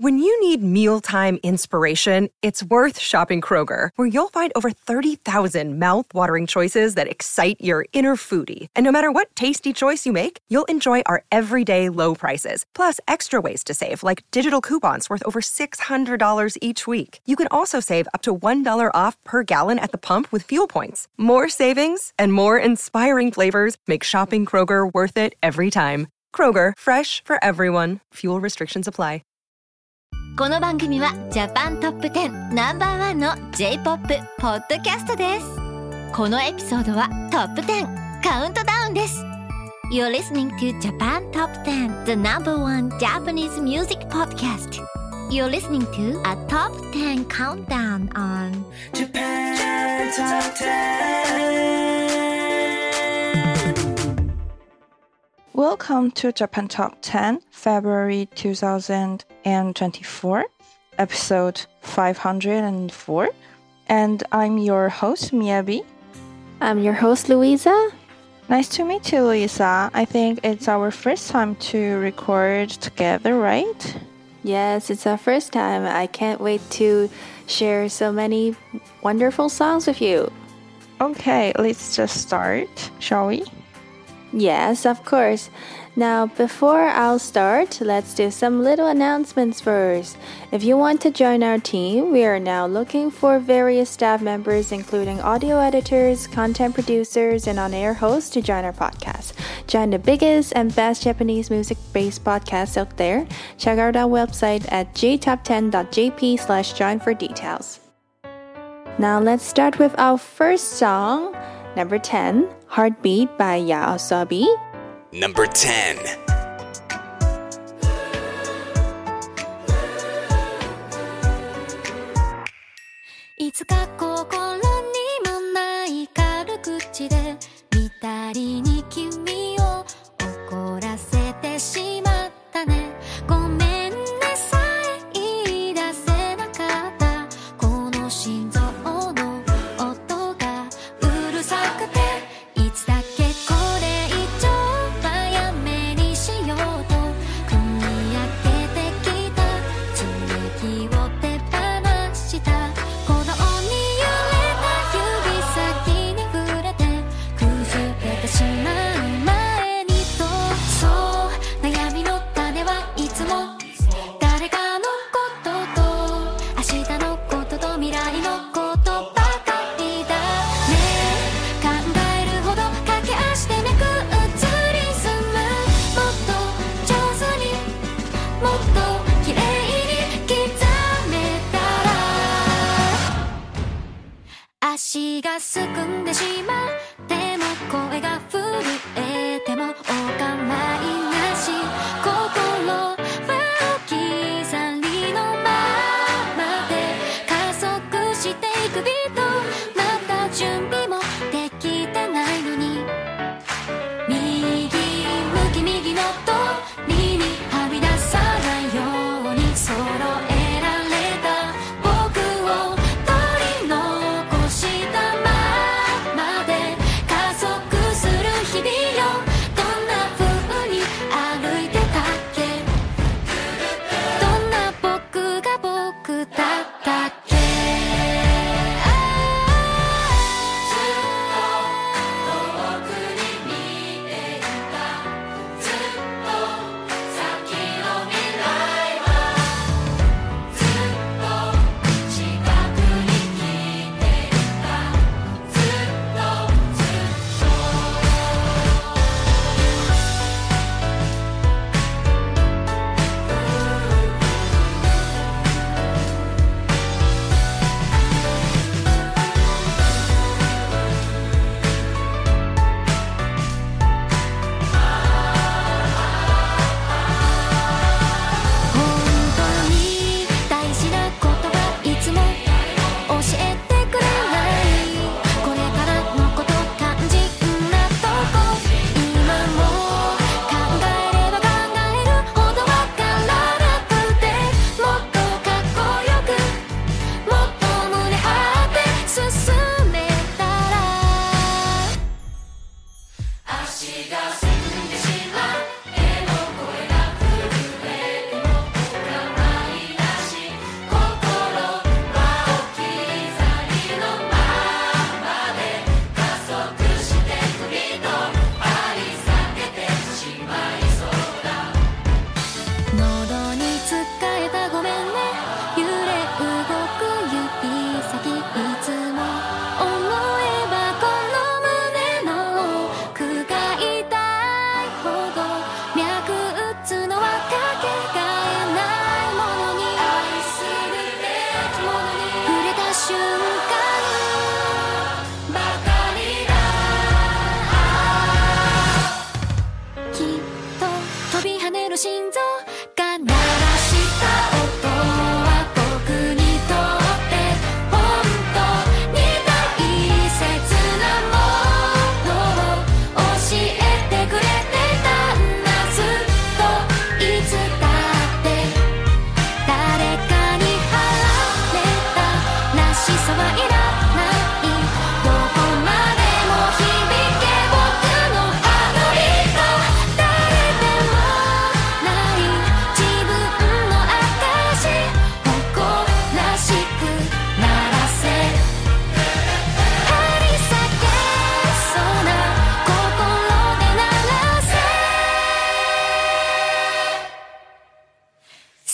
When you need mealtime inspiration, it's worth shopping Kroger, where you'll find over 30,000 mouth-watering choices that excite your inner foodie. And no matter what tasty choice you make, you'll enjoy our everyday low prices, plus extra ways to save, like digital coupons worth over $600 each week. You can also save up to $1 off per gallon at the pump with fuel points. More savings and more inspiring flavors make shopping Kroger worth it every time. Kroger, fresh for everyone. Fuel restrictions apply. この番組はジャパントップ10ナンバーワンの J-POP ポッドキャストです。このエピソードはトップ10カウントダウンです。You're listening to Japan Top 10, the number one Japanese music podcast. You're listening to a top 10 countdown on Japan Top 10. Welcome to Japan Top 10, February 2024, episode 504. And I'm your host, Miyabi. I'm your host, Louisa. Nice to meet you, Louisa. I think it's our first time to record together, right? Yes, it's our first time. I can't wait to share so many wonderful songs with you. Okay, let's just start, shall we? Yes, of course. Now, before I'll start, let's do some little announcements first. If you want to join our team, we are now looking for various staff members, including audio editors, content producers, and on-air hosts to join our podcast. Join the biggest and best Japanese music-based podcasts out there. Check out our website at jtop10.jp/join for details. Now, let's start with our first song, number 10, Heartbeat by YOASOBI. Number 10. いつか心にもない軽口で見たりに君を怒らせてしまったね。ごめんねさえ言い出せなかったこの心臓の音がうるさくていつだけこれ以上はやめに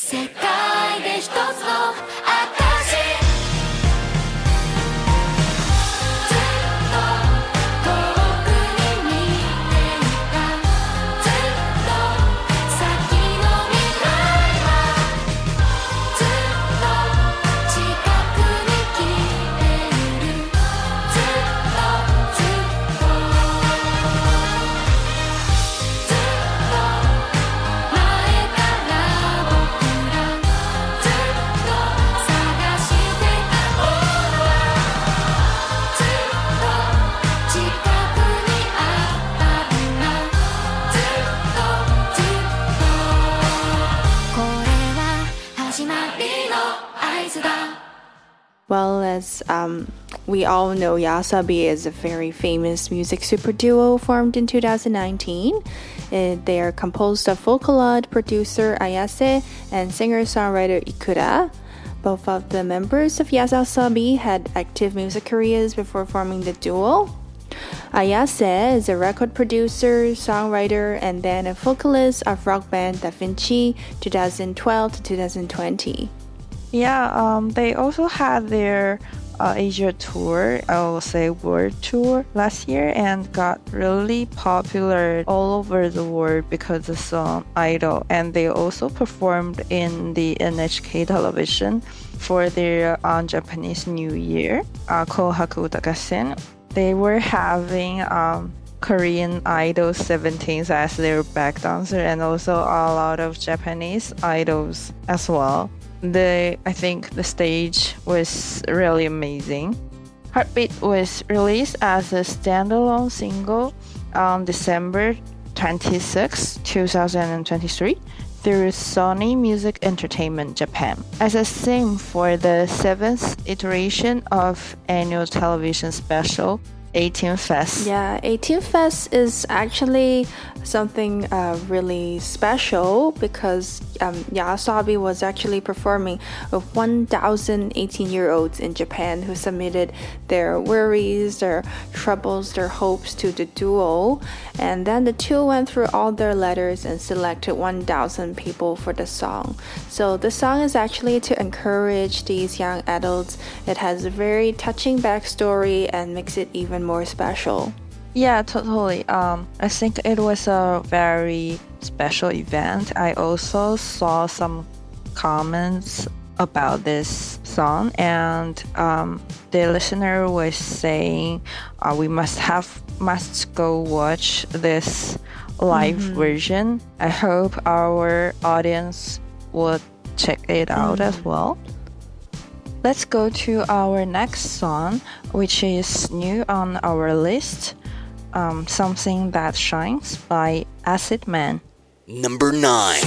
世界で一つの証ずっと遠くに見ていたずっと先の未来はずっと近くに来ているずっとずっとずっと前から僕らずっと探してたものはずっと近くにあったんだずっとずっとこれは始まりの合図だ Well, as we all know, Yasabi is a very famous music super duo formed in 2019. They are composed of Vocaloid producer Ayase and singer-songwriter Ikura. Both of the members of Yasabi had active music careers before forming the duo. Ayase is a record producer, songwriter, and then a vocalist of rock band Da Vinci 2012 to 2020. Yeah, they also had their Asia tour, I will say world tour last year, and got really popular all over the world because of the song Idol. And they also performed in the NHK television for their Japanese New Year, Kohaku Utagassen. They were having Korean Idol 17s as their back dancer, and also a lot of Japanese idols as well. I think the stage was really amazing. Heartbeat was released as a standalone single on December 26, 2023 through Sony Music Entertainment Japan as a theme for the 7th iteration of annual television special 18 Fest. Yeah, 18 Fest is actually something really special because Yasabi was actually performing with 1,000 18-year-olds in Japan who submitted their worries, their troubles, their hopes to the duo. And then the two went through all their letters and selected 1,000 people for the song. So the song is actually to encourage these young adults. It has a very touching backstory and makes it even more special. Yeah, totally. I think it was a very special event. I also saw some comments about this song, and the listener was saying we must go watch this live version. I hope our audience would check it out as well. Let's go to our next song, which is new on our list. Something That Shines by Acid Man. Number 9.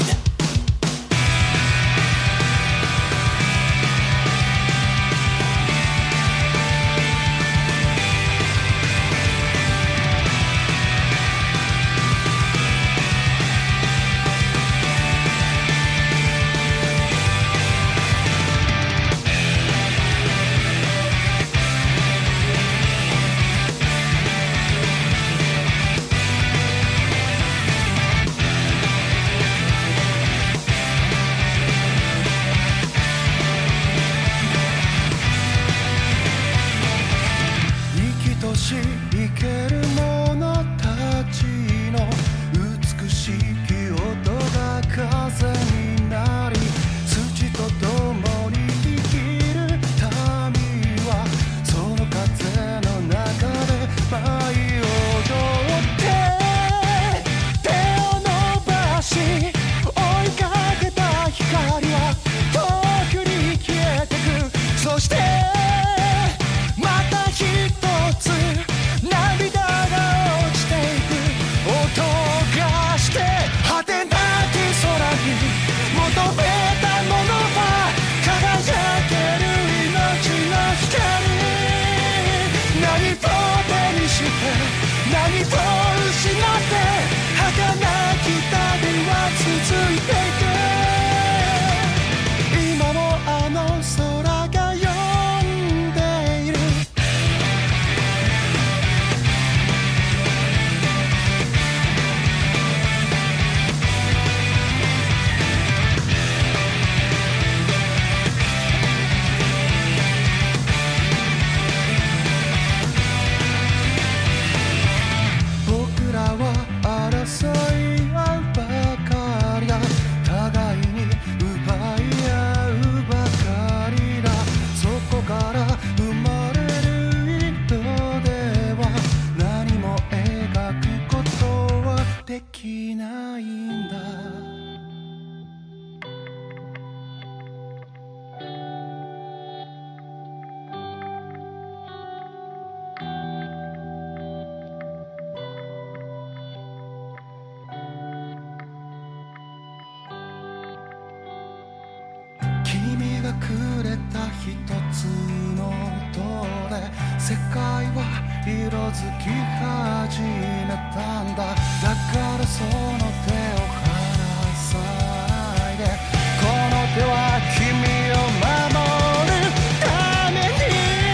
がくれた一つの音で世界は色づき始めたんだ。だからその手を離さないで、この手は君を守るために。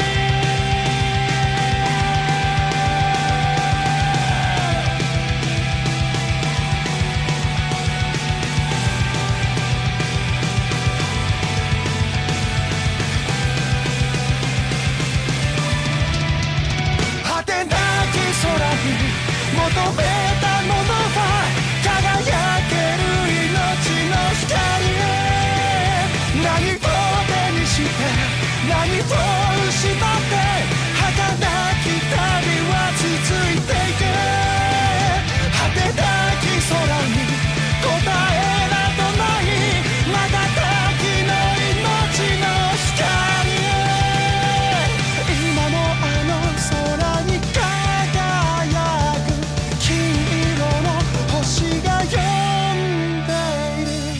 果てなき空に求めたものは輝ける命の光へ。何を手にして何を失って儚き旅は続いていく。果てなき空に答えなどない、瞬きの命の光へ。今もあの空に輝く金色の星が呼んでいる。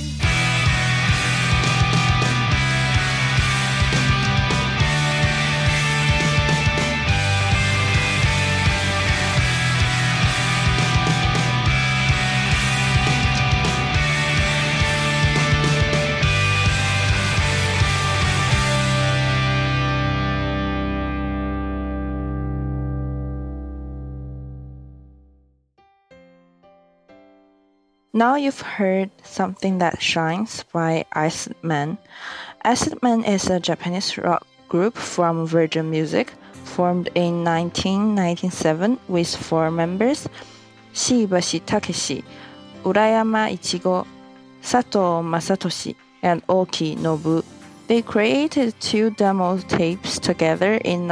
Now you've heard Something That Shines by Acid Man. Acid Man is a Japanese rock group from Virgin Music, formed in 1997 with 4 members: Shiibashi Takeshi, Urayama Ichigo, Sato Masatoshi, and Oki Nobu. They created 2 demo tapes together in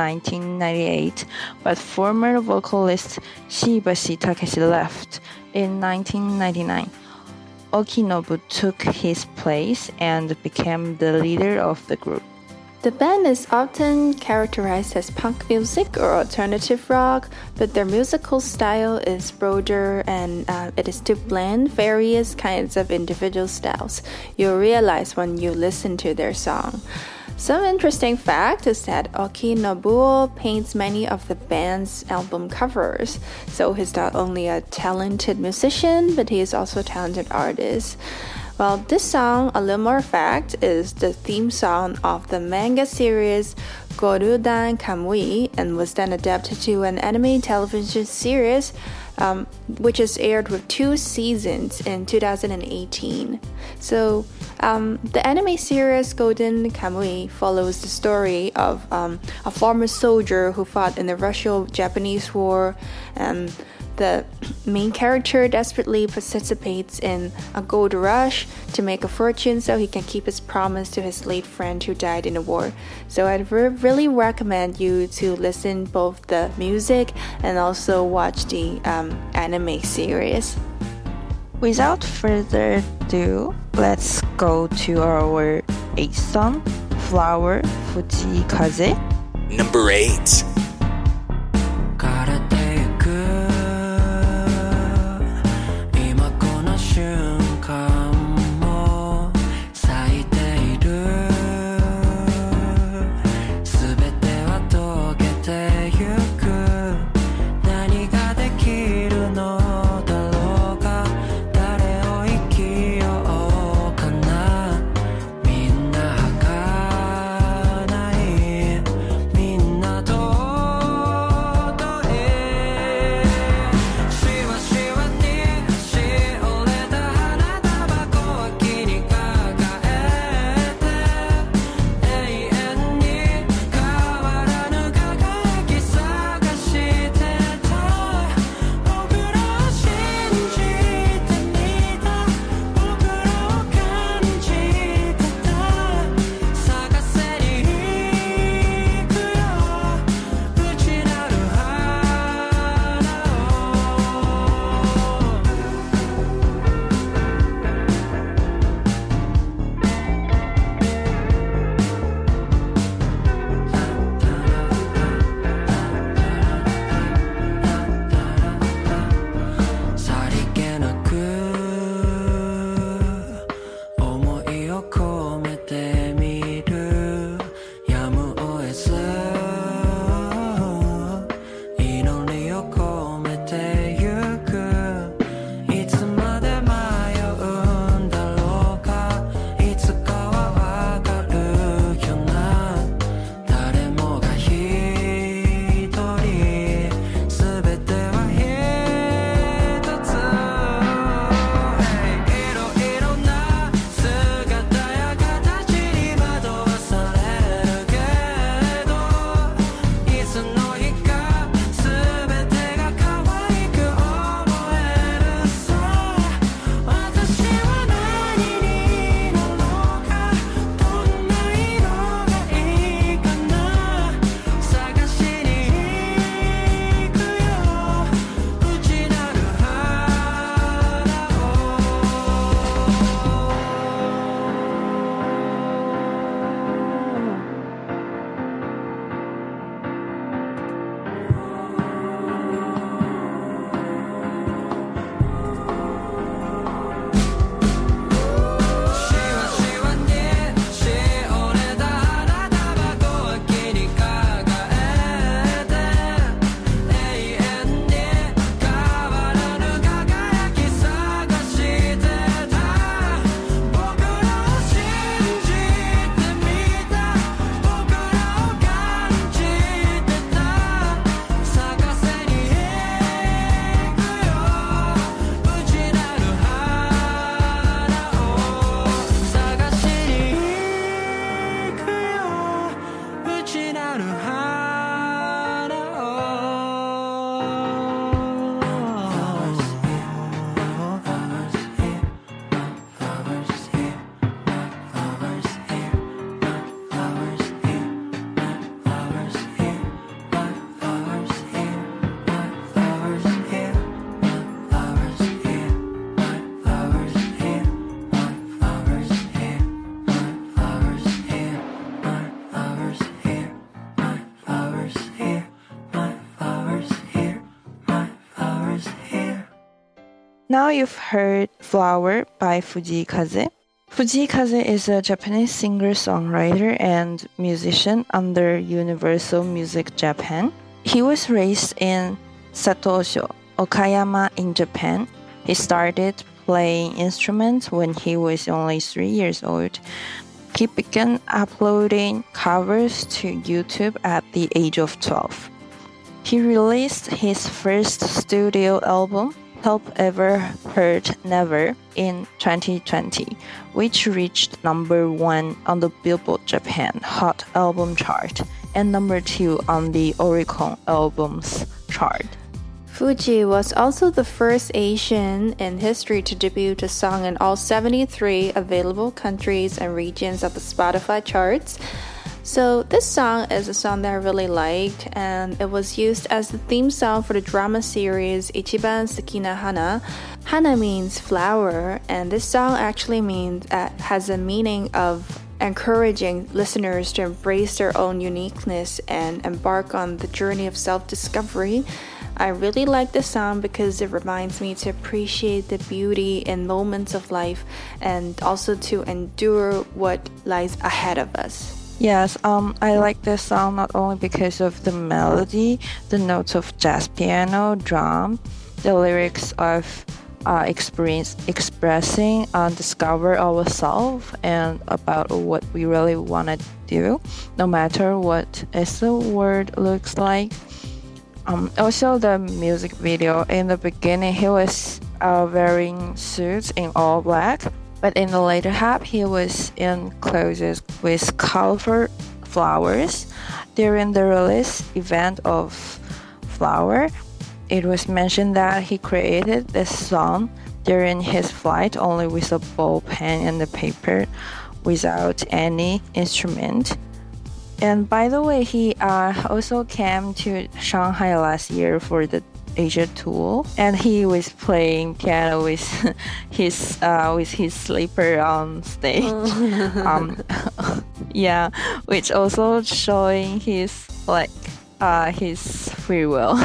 1998, but former vocalist Shiibashi Takeshi left in 1999. Okinobu took his place and became the leader of the group. The band is often characterized as punk music or alternative rock, but their musical style is broader and it is to blend various kinds of individual styles. You'll realize when you listen to their song. Some interesting fact is that Oki Nobuo paints many of the band's album covers, so he's not only a talented musician, but he is also a talented artist. Well, this song, a little more fact, is the theme song of the manga series Gorudan Kamui and was then adapted to an anime television series, which is aired with 2 seasons in 2018. So, the anime series Golden Kamui follows the story of a former soldier who fought in the Russo-Japanese War, and the main character desperately participates in a gold rush to make a fortune so he can keep his promise to his late friend who died in the war. So I'd really recommend you to listen both the music and also watch the anime series. Without further ado, let's go to our 8th song, Flower, Fujikaze. Number 8. Door Now you've heard Flower by Fujii Kaze is a Japanese singer-songwriter and musician under Universal Music Japan. He was raised in Satosho, Okayama in Japan. He started playing instruments when he was only 3 years old. He began uploading covers to YouTube at the age of 12. He released his first studio album, Help Ever Hurt Never, in 2020, which reached number 1 on the Billboard Japan Hot Album Chart and number 2 on the Oricon Albums Chart. Fuji was also the first Asian in history to debut a song in all 73 available countries and regions of the Spotify charts. So this song is a song that I really liked, and it was used as the theme song for the drama series Ichiban Suki na Hana. Hana means flower, and this song actually has a meaning of encouraging listeners to embrace their own uniqueness and embark on the journey of self-discovery. I really like this song because it reminds me to appreciate the beauty in moments of life and also to endure what lies ahead of us. Yes, I like this song not only because of the melody, the notes of jazz piano, drum, the lyrics of expressing, discover ourselves and about what we really want to do, no matter what is the word looks like. Also, the music video, in the beginning, he was wearing suits in all black, but in the later half, he was in clothes with colorful flowers. During the release event of Flower, it was mentioned that he created this song during his flight only with a ball pen and the paper without any instrument. And by the way, he also came to Shanghai last year for the Asia tour, and he was playing piano with his slipper on stage. Yeah, which also showing his free will.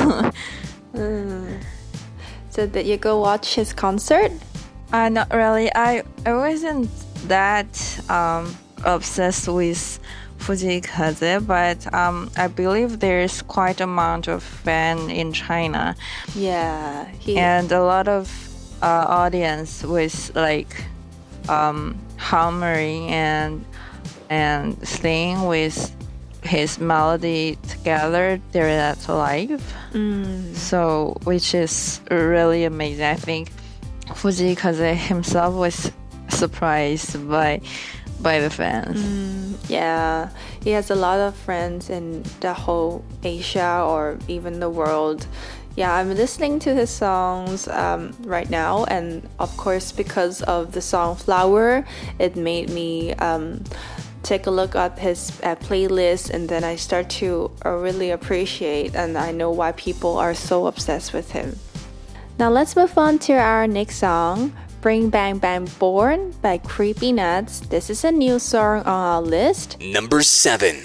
So did you go watch his concert? Not really. I wasn't that obsessed with Fujii Kaze, but I believe there's quite amount of fan in China. Yeah, and a lot of audience was like humming and singing with his melody together during that live. So, which is really amazing. I think Fujii Kaze himself was surprised by the fans. Yeah, he has a lot of friends in the whole Asia or even the world. Yeah, I'm listening to his songs right now, and of course because of the song Flower, it made me take a look at his playlist, and then I start to really appreciate, and I know why people are so obsessed with him. Now let's move on to our next song, Bring Bang Bang Born by Creepy Nuts. This is a new song on our list. Number 7.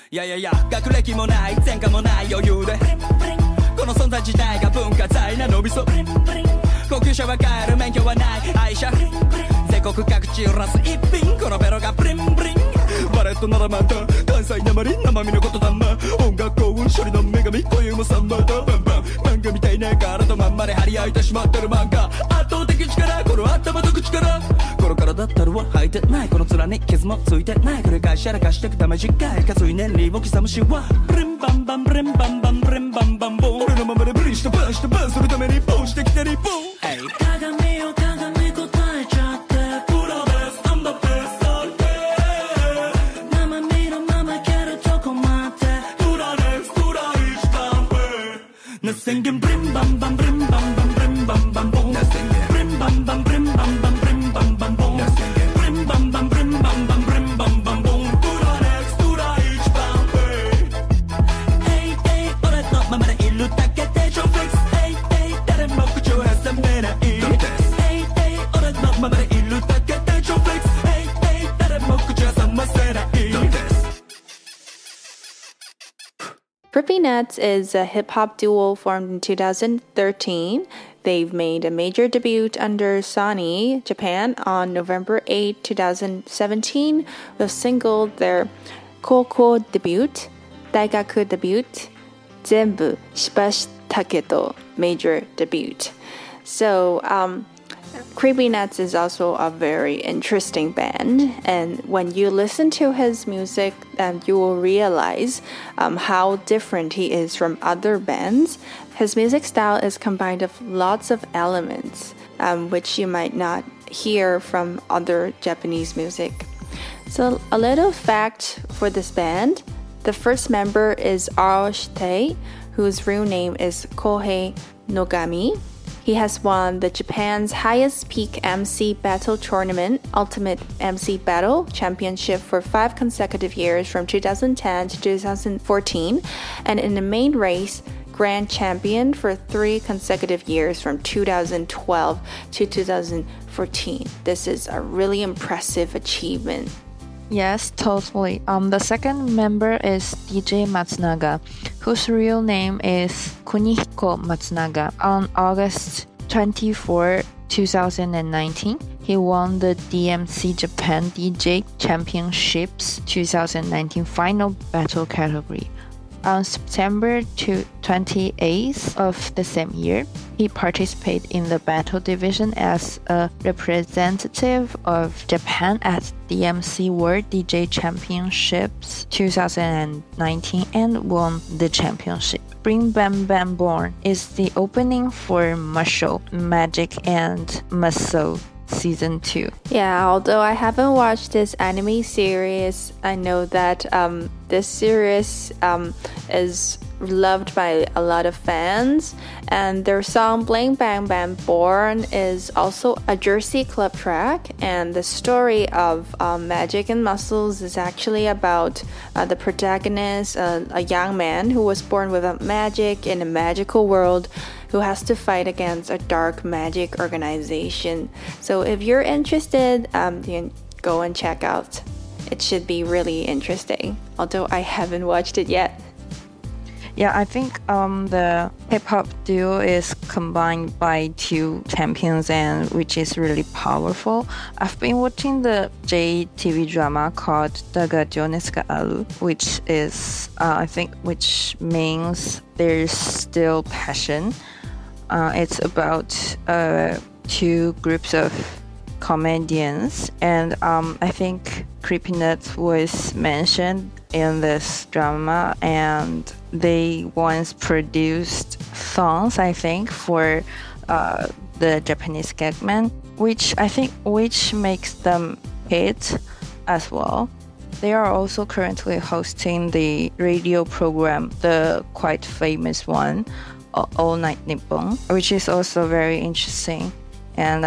いやいやいや学歴もない前科もない余裕でこの存在自体が文化財なのみそ高級車は買える免許はない愛車全国各地揺らす一品このベロがブリンブリンバレットならまた関西なまり生身のことだな音楽幸運処理の女神固有もサンバだバンバン漫画みたいな体まんまで張り合いてしまってる漫画圧倒的力この頭と口からこの体たるは履いてないこの面に傷もついてない繰り返しやらかしてくため次回かつい年利を刻むしはブリンバンバンブリンバンバンブリンバンバンボン俺のままでブリンしてバンしてバンするためにボンしてきてリボン鏡を鏡答えちゃってプロです I'm the best all day 生身のままいけるとこまでプラネスプラ一番上 Nothing can ブリンバンバンブリンバンバンブリンバンバンボン Nothing can ブリンバンバンブリンバンバンブリンバンバンボン Nothing can ブリンバンバンブリンバンバンブリンバンバンボンプラネスプラ一番上 Hey hey 俺のままでいるだけでジョンフィックス Hey hey 誰も口を挟めないHey hey 俺のままでいるだけでジョンフィックス Hey hey 誰も口を挟ませない Creepy Nuts is a hip-hop duo formed in 2013. They've made a major debut under Sony Japan on November 8, 2017 with single their Koukou debut, Daigaku debut, Zenbu Shibashita Kedo major debut. So, Creepy Nuts is also a very interesting band, and when you listen to his music, you will realize how different he is from other bands. His music style is combined of lots of elements, which you might not hear from other Japanese music. So, a little fact for this band: the first member is Ao Shitei, whose real name is Kohei Nogami. He has won the Japan's highest peak MC battle tournament, Ultimate MC Battle Championship, for 5 consecutive years from 2010 to 2014, and in the main race, Grand Champion for 3 consecutive years from 2012 to 2014. This is a really impressive achievement. Yes, totally. The second member is DJ Matsunaga, whose real name is Kunihiko Matsunaga. On August 24, 2019, he won the DMC Japan DJ Championships 2019 final battle category. On September 28th of the same year, he participated in the battle division as a representative of Japan at DMC World DJ Championships 2019 and won the championship. Bring Bam Bam Born is the opening for Musho, Magic and Musou Season 2. Yeah, although I haven't watched this anime series, I know that this series is loved by a lot of fans, and their song Bling Bang Bang Born is also a Jersey club track, and the story of Magic and Muscles is actually about the protagonist, a young man who was born with a magic in a magical world who has to fight against a dark magic organization. So if you're interested, you can go and check out. It should be really interesting, although I haven't watched it yet. Yeah, I think the hip-hop duo is combined by 2 champions, and which is really powerful. I've been watching the JTV drama called Daga Jones ga Aru, which is, which means there's still passion. It's about 2 groups of comedians, and I think Creepy Nuts was mentioned in this drama, and they once produced songs, I think, for the Japanese Gagman, which makes them hit as well. They are also currently hosting the radio program, the quite famous one, All Night Nippon, which is also very interesting, and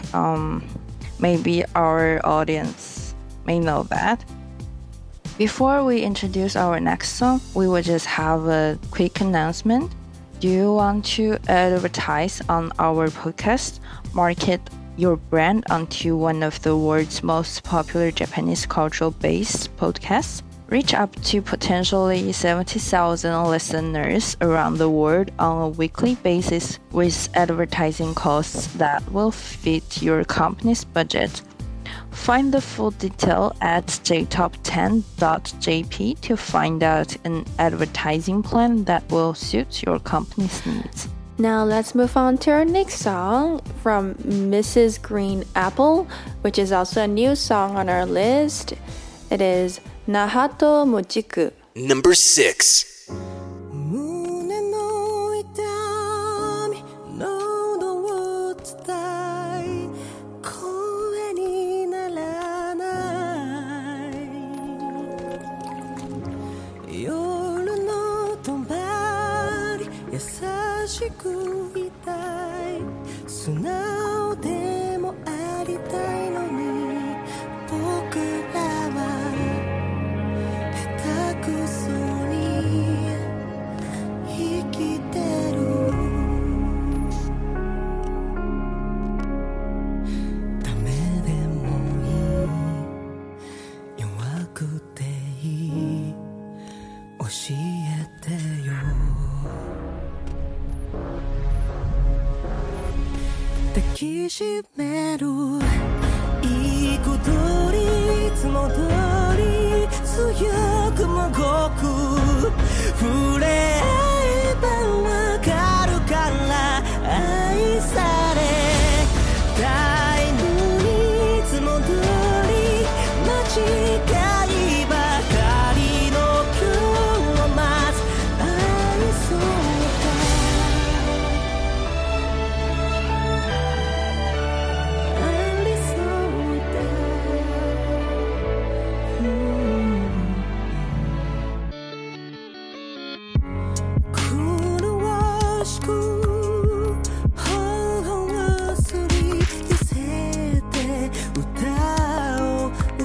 maybe our audience may know that. Before we introduce our next song, we will just have a quick announcement. Do you want to advertise on our podcast, market your brand onto one of the world's most popular Japanese cultural-based podcasts? reach up to potentially 70,000 listeners around the world on a weekly basis with advertising costs that will fit your company's budget. Find the full detail at jtop10.jp to find out an advertising plan that will suit your company's needs. Now let's move on to our next song from Mrs. Green Apple, which is also a new song on our list. It is Nahato Mochiku. Number 6. 胸の痛み喉を伝え声にならない夜のとばり優しくいたい素直でもありたいのに僕らは下手くそに生きてるダメでもいい弱くていい教えてよ抱きしめるいい子通りいつも通り強くもごく触れ合えばわかるから愛されたいのにいつも通り間違いばかりの今日を待つ愛そうかありそうだ苦しく頬をすり寄せて歌を歌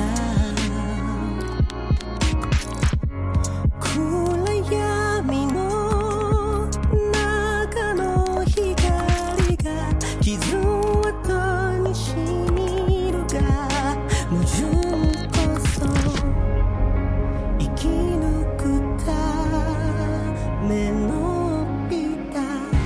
う暗闇の中の光が傷跡にしみるが矛盾こそ生き抜くためのビタ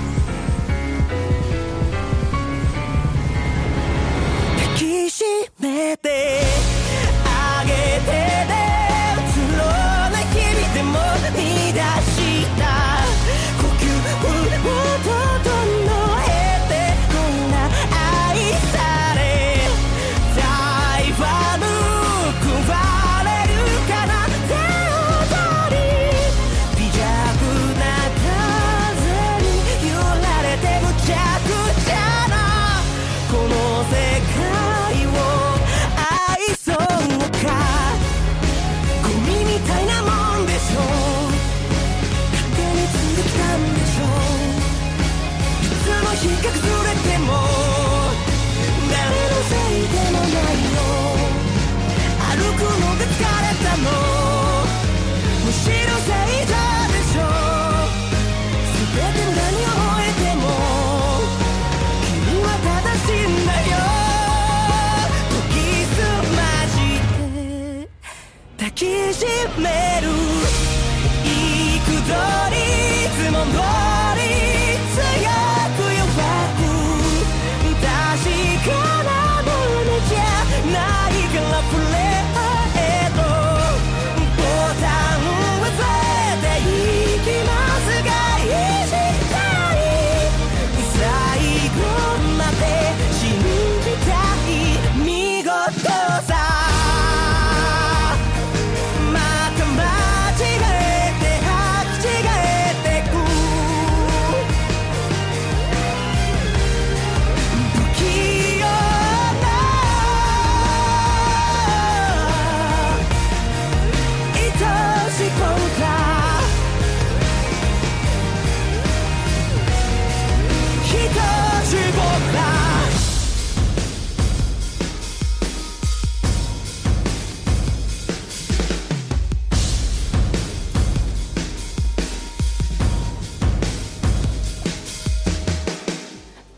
抱きしめてあげてねうつろな日々でも見出した呼吸を整えてこんな愛されたいは報われるかな手を取り微弱な風に揺られてむちゃくちゃなこの世界を愛そうかゴミみたいなもんでしょ勝手についてきたんでしょいつの日か崩れても誰のせいでもないよ歩くのが疲れたのむしろ正座でしょ全て無駄に思えても君は正しいんだよ時すまじて抱きしめるいくどりいつも通り強く弱く確かなものじゃないからプレーとボタンを押していきますが意地たい最後まで信じたい見事さまた間違えて履き違えてく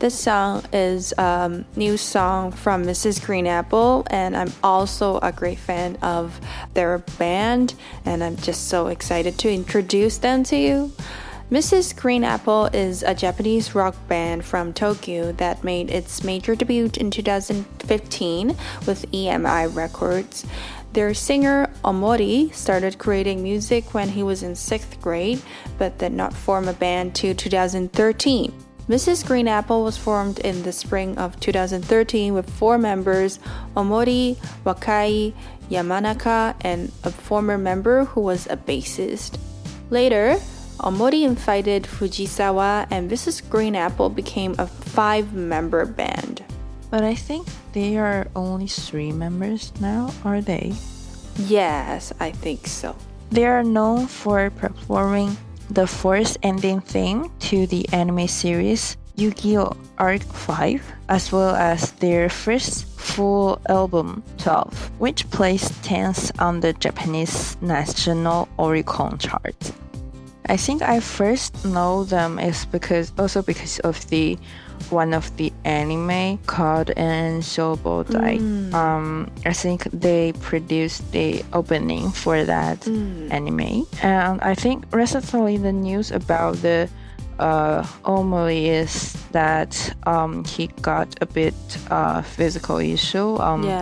This song is a new song from Mrs. Green Apple, and I'm also a great fan of their band, and I'm just so excited to introduce them to you. Mrs. Green Apple is a Japanese rock band from Tokyo that made its major debut in 2015 with EMI Records. Their singer, Omori, started creating music when he was in 6th grade, but did not form a band till 2013. Mrs. Green Apple was formed in the spring of 2013 with 4 members, Omori, Wakai, Yamanaka, and a former member who was a bassist. Later, Omori invited Fujisawa, and Mrs. Green Apple became a 5-member band. But I think they are only 3 members now, are they? Yes, I think so. They are known for performing the 4th ending theme to the anime series Yu-Gi-Oh! Arc 5, as well as their first full album 12, which placed 10th on the Japanese National Oricon chart. I think I first know them is because of the one of the anime called Enshobodai. I think they produced the opening for that anime. And I think recently the news about the Omori is that he got a bit physical issue.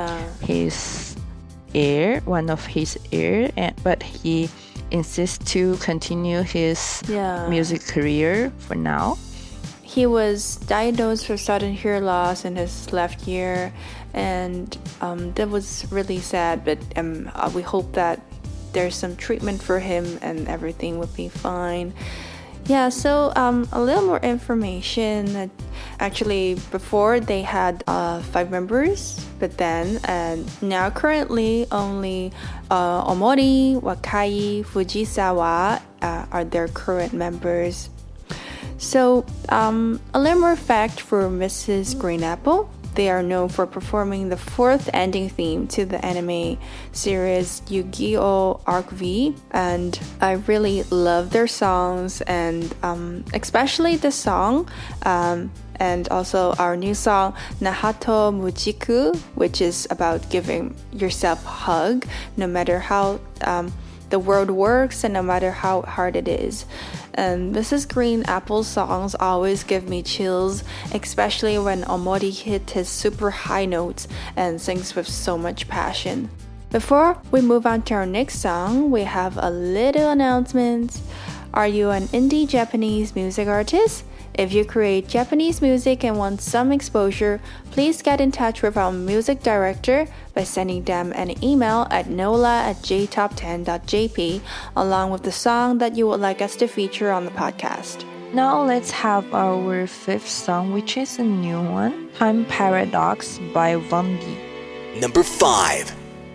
His ear, one of his ear, but he insists to continue his music career for now. He was diagnosed with sudden hear loss in his left ear, and that was really sad, but we hope that there's some treatment for him and everything would be fine. Yeah, so a little more information. Actually, before they had 5 members, but then now currently only Omori, Wakai, Fujisawa are their current members. So, a little more fact for Mrs. Green Apple. They are known for performing the 4th ending theme to the anime series Yu-Gi-Oh! Arc V, and I really love their songs, and especially the song, and also our new song Nahato Mujiku, which is about giving yourself a hug, no matter how the world works and no matter how hard it is. And Mrs. Green Apple's songs always give me chills, especially when Omori hits his super high notes and sings with so much passion. Before we move on to our next song, we have a little announcement. Are you an indie Japanese music artist? If you create Japanese music and want some exposure, please get in touch with our music director by sending them an email at nola@jtop10.jp along with the song that you would like us to feature on the podcast. Now let's have our 5th song, which is a new one, Time Paradox by Vondi. Number 5.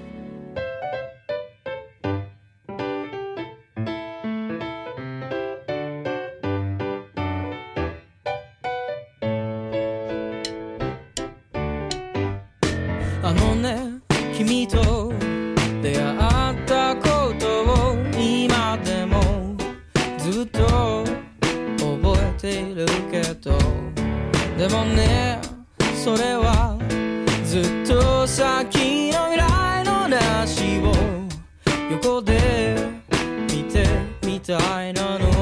君と出会ったことを今でもずっと覚えているけど、でもね、それはずっと先の未来の話を横で見てみたいなの。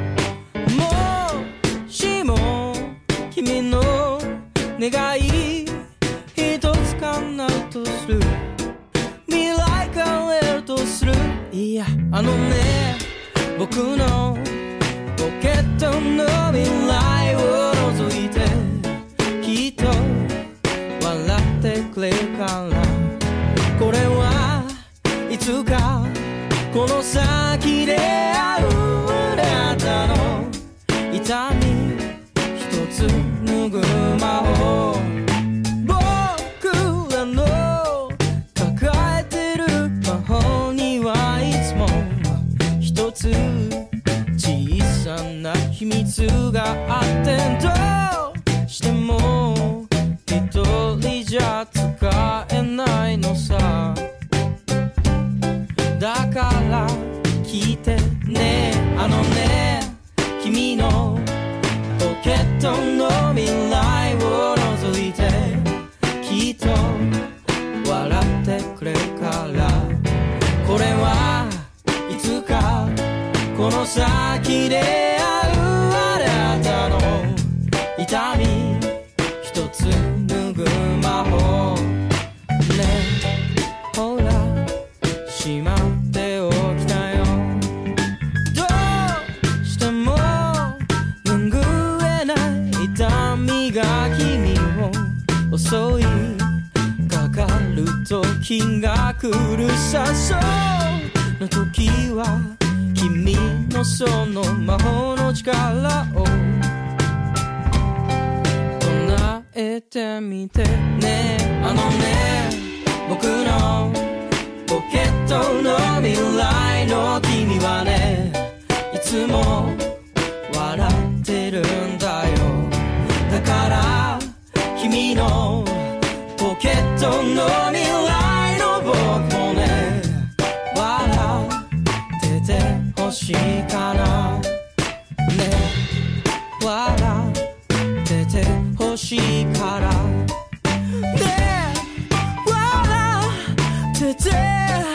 もしも君の願い一つ叶うとする、未来変えるとする、いやね、僕のポケットの未来を覗いてきっと笑ってくれるから、これはいつかこの先で会うあなたの痛み一つ拭う魔法、僕らの抱えてる魔法にはいつも一つ小さな秘密があって、どうしても一人じゃ使えないのさ。だから聞いてね、ね、君のポケットの未来入れ合うあなたの痛み一つ拭う魔法ねほらしまっておきたよどうしても拭えない痛みが君を襲いかかる時が来るさそうの時は君のその魔法の力を唱えてみてねあのね僕のポケットの未来の君はねいつも笑ってるんだよだから君のポケットの未来の僕もね笑っててほしいかなね笑っててほしいからね笑っててくれよ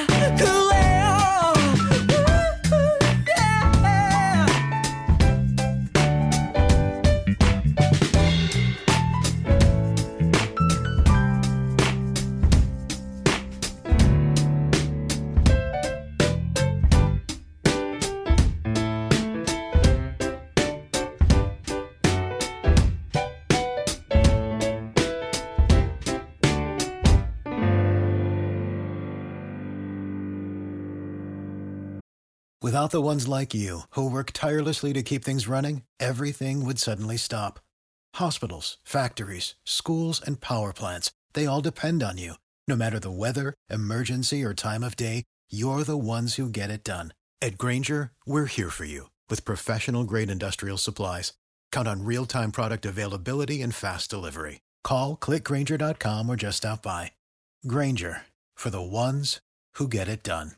Without the ones like you, who work tirelessly to keep things running, everything would suddenly stop. Hospitals, factories, schools, and power plants, they all depend on you. No matter the weather, emergency, or time of day, you're the ones who get it done. At Grainger, we're here for you with professional-grade industrial supplies. Count on real-time product availability and fast delivery. Call, click Grainger.com, or just stop by. Grainger, for the ones who get it done.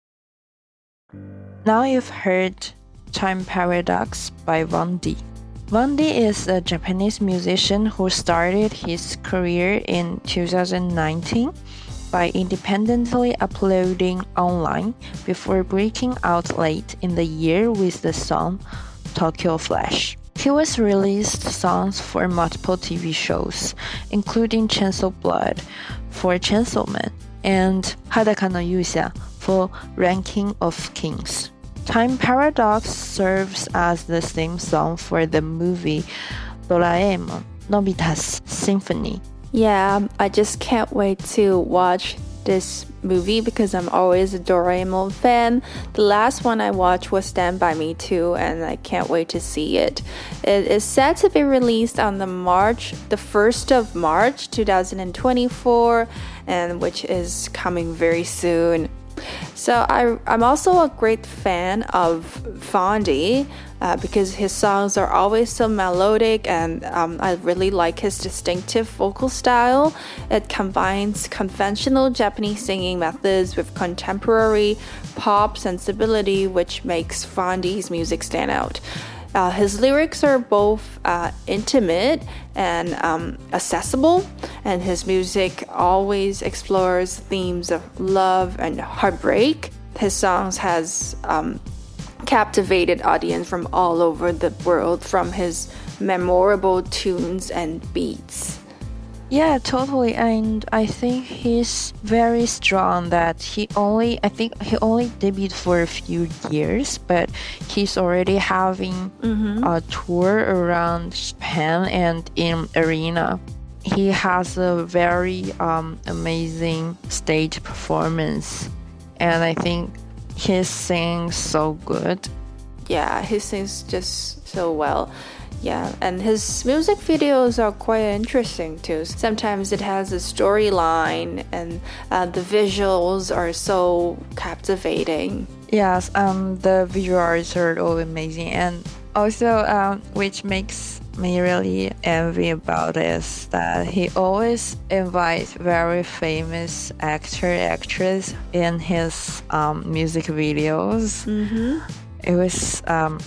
Now you've heard Time Paradox by Vaundy. Vaundy is a Japanese musician who started his career in 2019 by independently uploading online before breaking out late in the year with the song Tokyo Flash. He was released songs for multiple TV shows, including Chainsaw Blood for Chainsaw Man and Hadaka no Yusha for Ranking of Kings. Time Paradox serves as the theme song for the movie Doraemon, Nobita's Symphony. Yeah, I just can't wait to watch this movie because I'm always a Doraemon fan. The last one I watched was Stand By Me too, and I can't wait to see it. It is set to be released on the 1st of March 2024, and which is coming very soon. So I'm also a great fan of Vaundy because his songs are always so melodic, and I really like his distinctive vocal style. It combines conventional Japanese singing methods with contemporary pop sensibility, which makes Vaundy's music stand out. His lyrics are both intimate and accessible, and his music always explores themes of love and heartbreak. His songs has captivated audience from all over the world from his memorable tunes and beats. Yeah, totally. And I think he's very strong that he only debuted for a few years, but he's already having a tour around Japan and in arena. He has a very amazing stage performance, and I think he sings so good. Yeah, he sings just so well. Yeah, and his music videos are quite interesting too. Sometimes it has a storyline, and the visuals are so captivating. Yes, the visuals are all amazing, and also which makes me really envy about is that he always invites very famous actress in his music videos. It was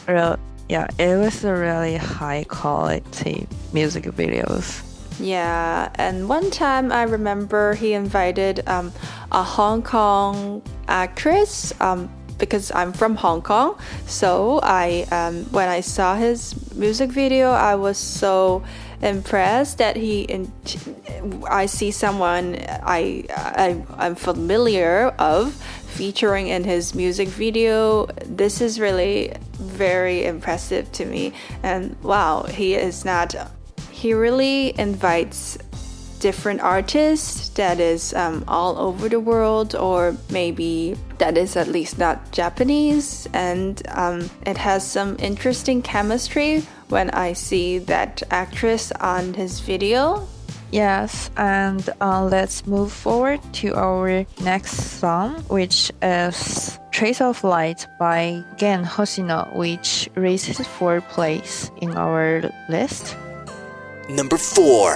it was a really high quality music videos. Yeah, and one time I remember he invited a Hong Kong actress, because I'm from Hong Kong. So when I saw his music video, I was so impressed that I see someone I'm familiar of featuring in his music video. This is really very impressive to me. And wow, he really invites different artists that is all over the world, or maybe that is at least not Japanese, and it has some interesting chemistry when I see that actress on his video. Yes, and let's move forward to our next song, which is Trace of Light by Gen Hoshino, which raises 4th place in our list. Number 4.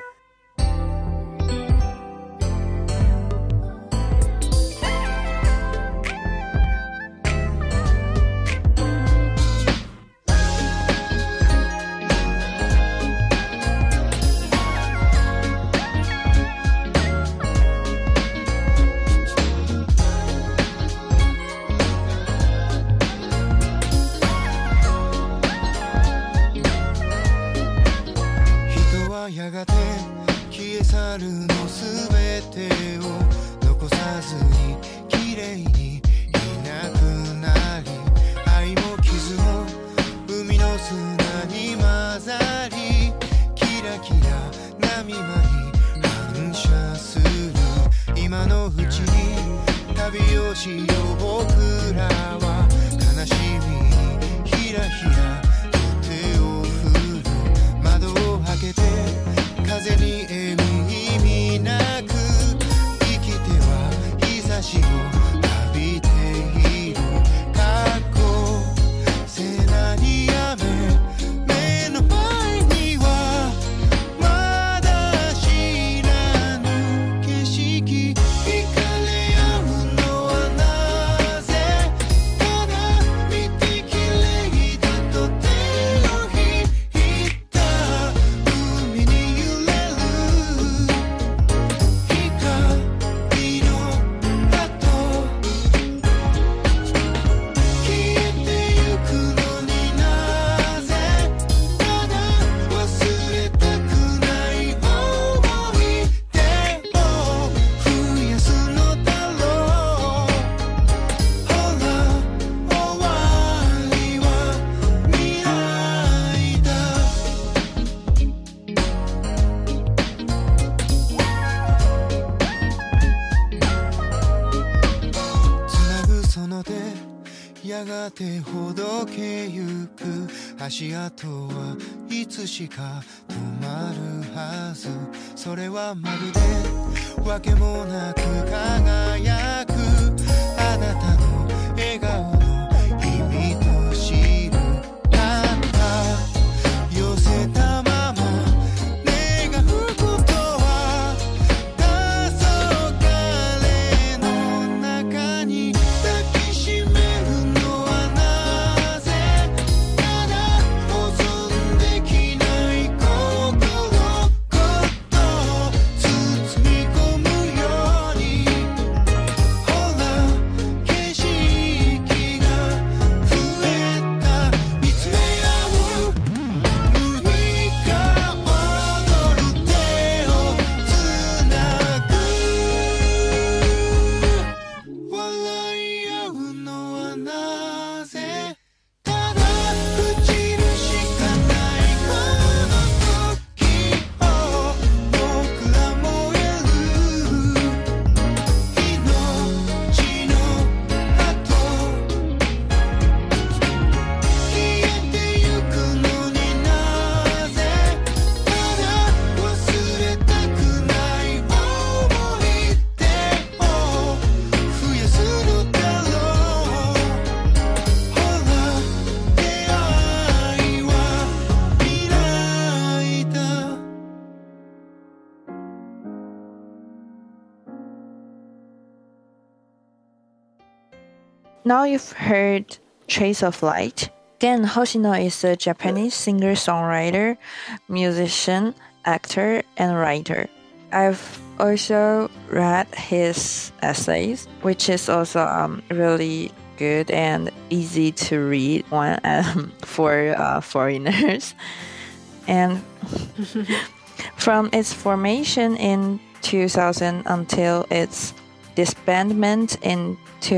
Now you've heard Trace of Light. Gen Hoshino is a Japanese singer-songwriter, musician, actor, and writer. I've also read his essays, which is also really good and easy to read one for foreigners. And from its formation in 2000 until its disbandment in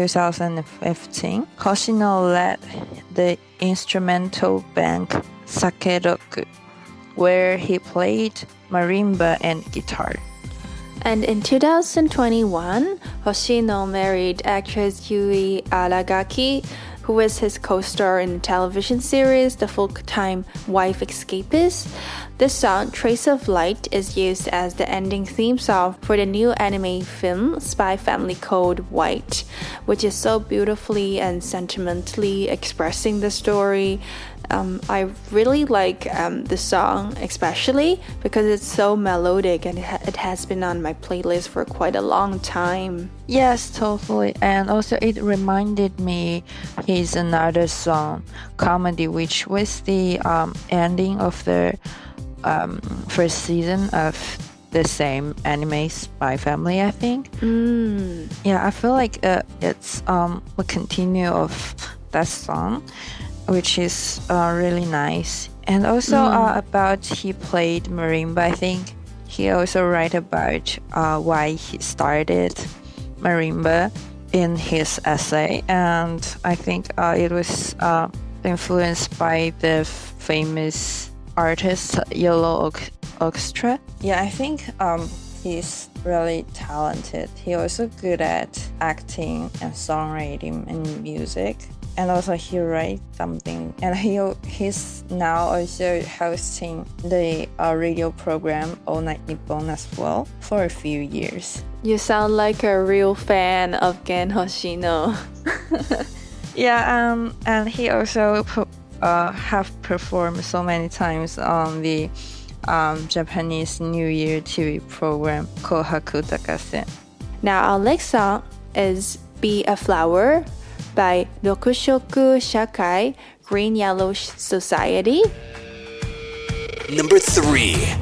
2015, Hoshino led the instrumental band Sakeroku, where he played marimba and guitar. And in 2021, Hoshino married actress Yui Aragaki, who was his co-star in the television series The Full-Time Wife Escapist. This song, Trace of Light, is used as the ending theme song for the new anime film Spy Family Code White, which is so beautifully and sentimentally expressing the story. I really like the song, especially because it's so melodic and it has been on my playlist for quite a long time. Yes, totally. And also it reminded me his another song, Comedy, which was the ending of the first season of the same anime Spy Family, I think. Yeah, I feel like it's a continue of that song, which is really nice. And also about he played marimba, I think he also write about why he started marimba in his essay, and I think it was influenced by the famous artist Yellow Orchestra. Yeah, I think he's really talented. He also good at acting and songwriting and music. And also he writes something, and he's now also hosting the radio program All Night Nippon as well for a few years. You sound like a real fan of Gen Hoshino. Yeah, and he also have performed so many times on the Japanese New Year TV program Kohaku Takase. Now our next song is Be a Flower by Rokushoku Shakai Green Yellow Society. Number 3.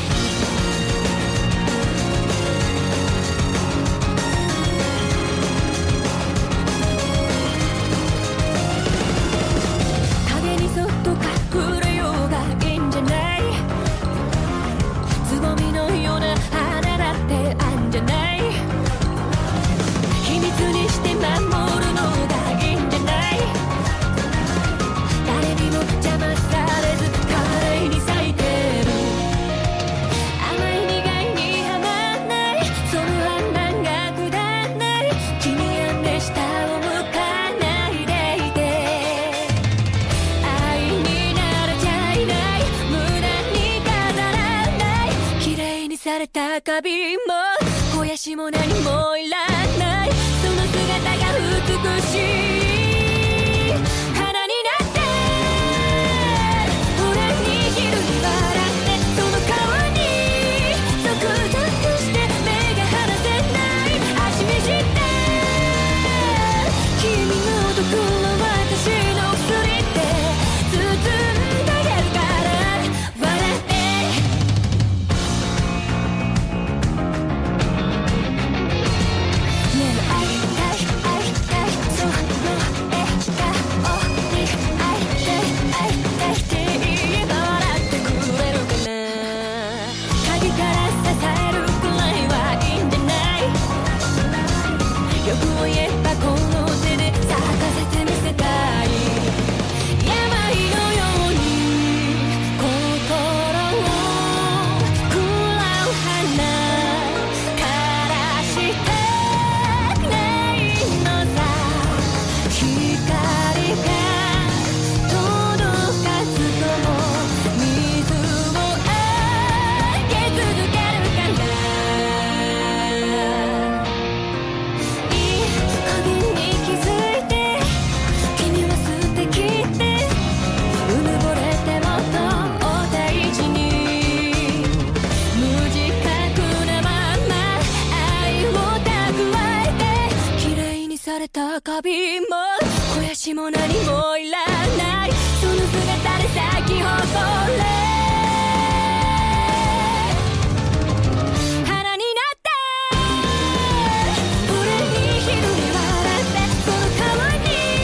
カビも肥やしも何もいらないその姿が美しい花になって俺に昼に笑ってその顔にゾクゾクして目が離せない足見して君の毒は私の薬って包んであげるから笑ってカビも肥やしも何もいらないその姿で咲き誇れ花になって俺に昼に笑ってその顔に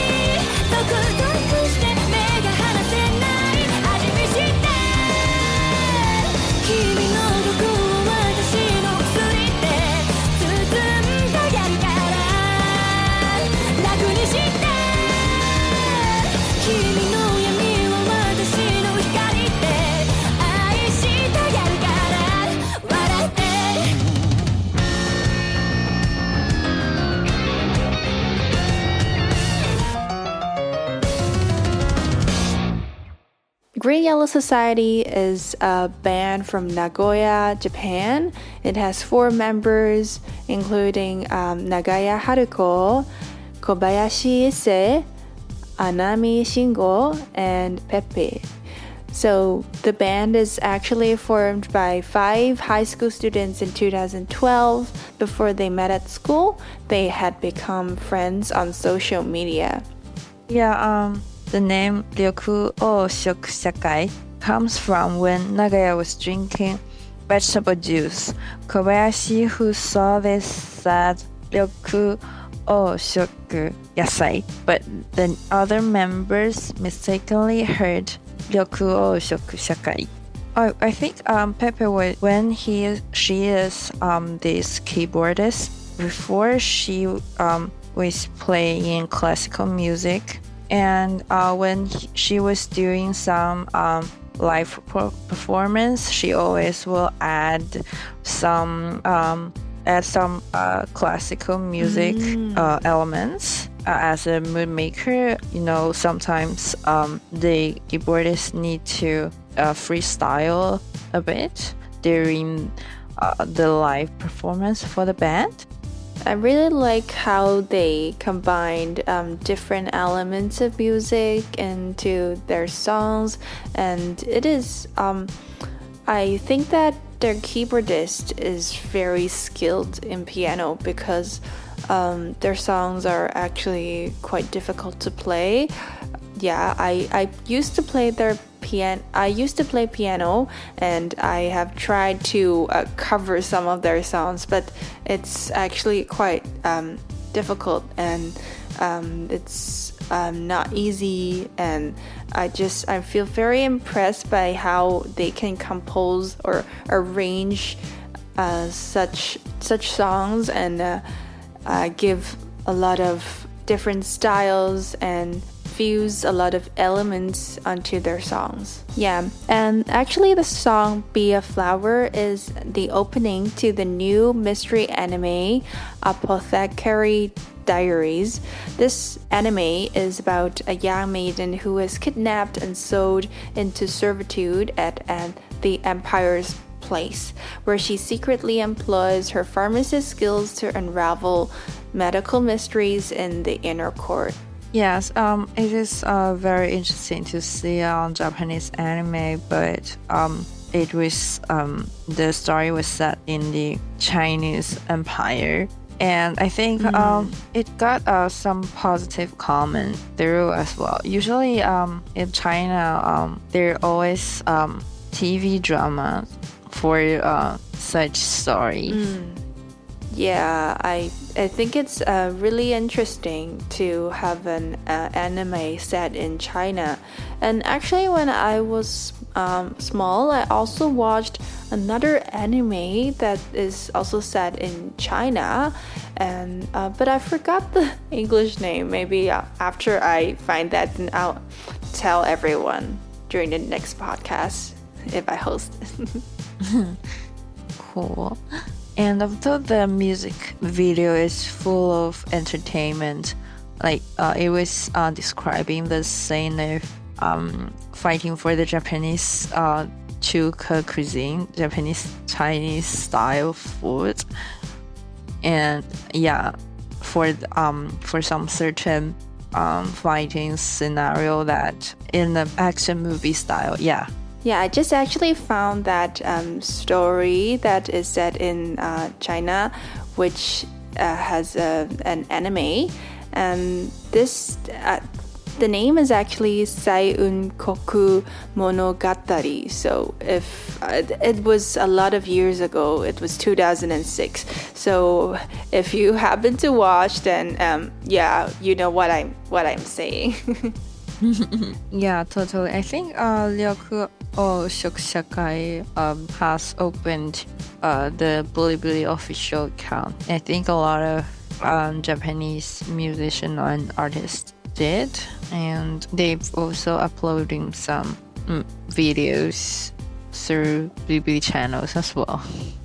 Green Yellow Society is a band from Nagoya, Japan. It has 4 members, including Nagaya Haruko, Kobayashi Ise, Anami Shingo, and Pepe. So the band is actually formed by 5 high school students in 2012. Before they met at school, they had become friends on social media. Yeah, the name Ryoku o Shoku Shakai comes from when Nagaya was drinking vegetable juice. Kobayashi, who saw this, said Ryoku o Shoku Yasai, but the other members mistakenly heard Ryoku o Shoku Shakai. I think Pepe was when she is this keyboardist. Before she was playing classical music, and when she was doing some live performance, she always will add some classical music elements. As a mood maker, sometimes the keyboardists need to freestyle a bit during the live performance for the band. I really like how they combined different elements of music into their songs, and it is I think that their keyboardist is very skilled in piano because their songs are actually quite difficult to play. Yeah, I used to play piano, and I have tried to cover some of their songs, but it's actually quite difficult, and it's not easy, and I feel very impressed by how they can compose or arrange such songs and give a lot of different styles and fuse a lot of elements onto their songs. Yeah, and actually the song Be a Flower is the opening to the new mystery anime Apothecary Diaries. This anime is about a young maiden who is kidnapped and sold into servitude at the Empire's place, where she secretly employs her pharmacist skills to unravel medical mysteries in the inner court. Yes, it is very interesting to see on Japanese anime, but it was the story was set in the Chinese Empire, and I think it got some positive comment through as well. Usually, in China, there are always TV dramas for such stories. Yeah, I think it's really interesting to have an anime set in China. And actually, when I was small, I also watched another anime that is also set in China, and but I forgot the English name. Maybe after I find that, then I'll tell everyone during the next podcast if I host it. Cool. And although the music video is full of entertainment, like it was describing the scene of fighting for the Japanese chuka cuisine, Japanese Chinese style food, and yeah, for some certain fighting scenario that in the action movie style, yeah. Yeah, I just actually found that story that is set in China, which has an anime, and this the name is actually Saiun Koku Monogatari. So if it was a lot of years ago, it was 2006. So if you happen to watch, then yeah, you know what I'm saying. Yeah, totally. I think Ryoku o Shoku Shakai has opened the Bilibili official account. I think a lot of Japanese musicians and artists did, and they've also uploading some videos through Bilibili channels as well.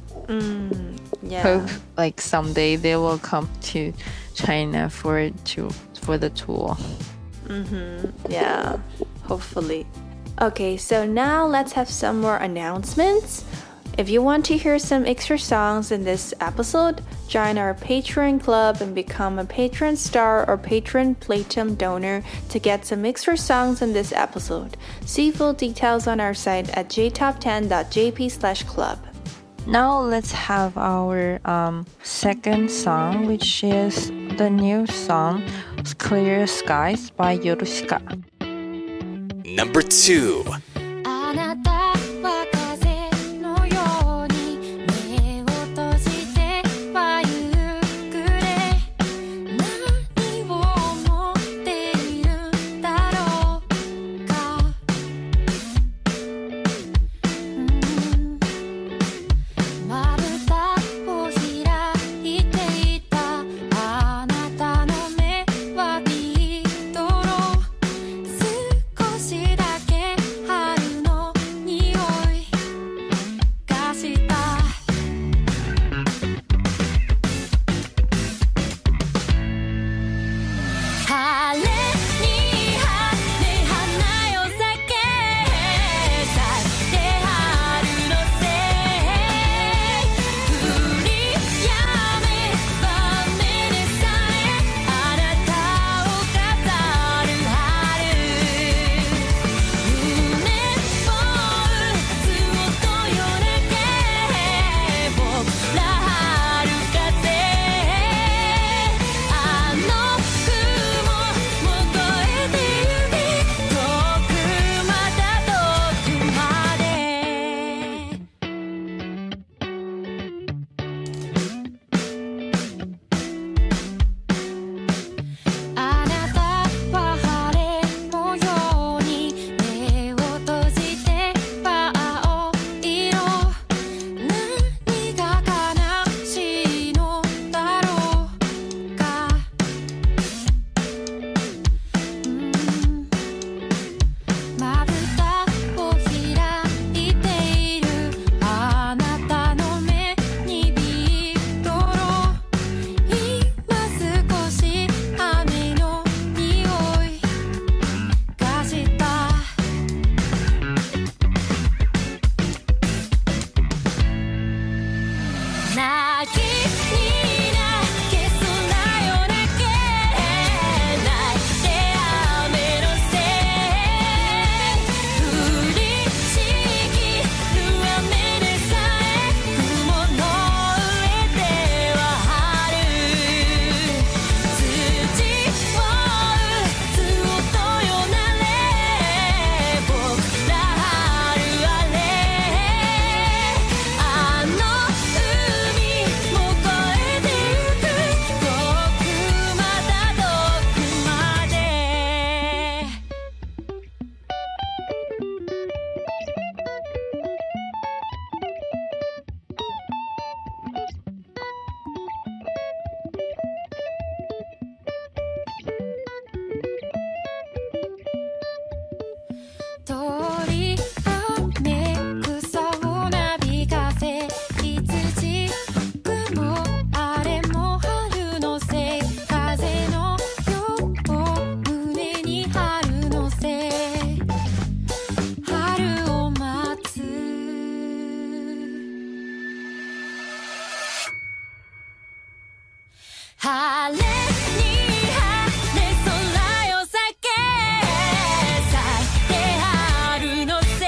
Yeah. Hope like someday they will come to China for the tour. Yeah, hopefully. Okay, so now let's have some more announcements. If you want to hear some extra songs in this episode, join our Patreon club and become a Patreon star or Patreon Platinum donor to get some extra songs in this episode. See full details on our site at jtop10.jp/club. Now let's have our second song, which is the new song Clear Skies by Yorushika. Number 2. あなたは風のように目を閉じてはゆっくり何を思っているんだろうかまぶたを開いていたあなたの目はビートロ少しだけ春の匂いがした晴れに晴れ花よ咲け咲いて春のせい降りやめば雨でさえあなたを飾る春夢を打つ音よだけ僕ら春風あの雲も越えてゆき遠くまた遠くまであなたは晴れ模様に目を閉じては青色何が悲しいのだろうかまぶたを開いているあなたの目にビートロ今少し雨の匂いがした泣きに泣け空よ泣け泣いて雨のせい降りしきる雨でさえ雲の上では春土を打つ音よなれ僕ら春あれあの海も越えてゆく遠くまた遠くまで鳥雨草をなびかせ羊雲あれも春のせい風のよう胸に春のせい春を待つ晴れに晴れ空よ咲け咲いて春のせい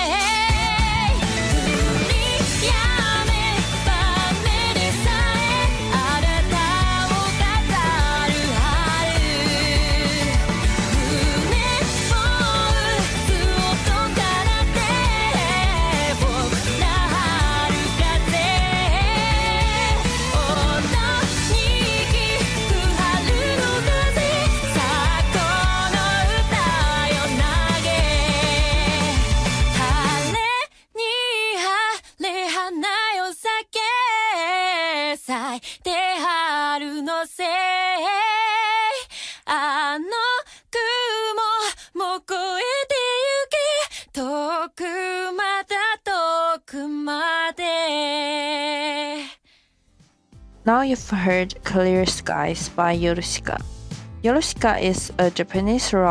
降りやめば雨でさえあなたを飾る春胸を打つ音からて僕ら春風音に響く春の風さあこの歌よ投げ晴れに晴れ花よ咲け咲いて春のせいあの雲も越えてゆき遠くまた遠くまで Now you've heard Clear Skies by Yorushika. Yorushika is a Japanese rock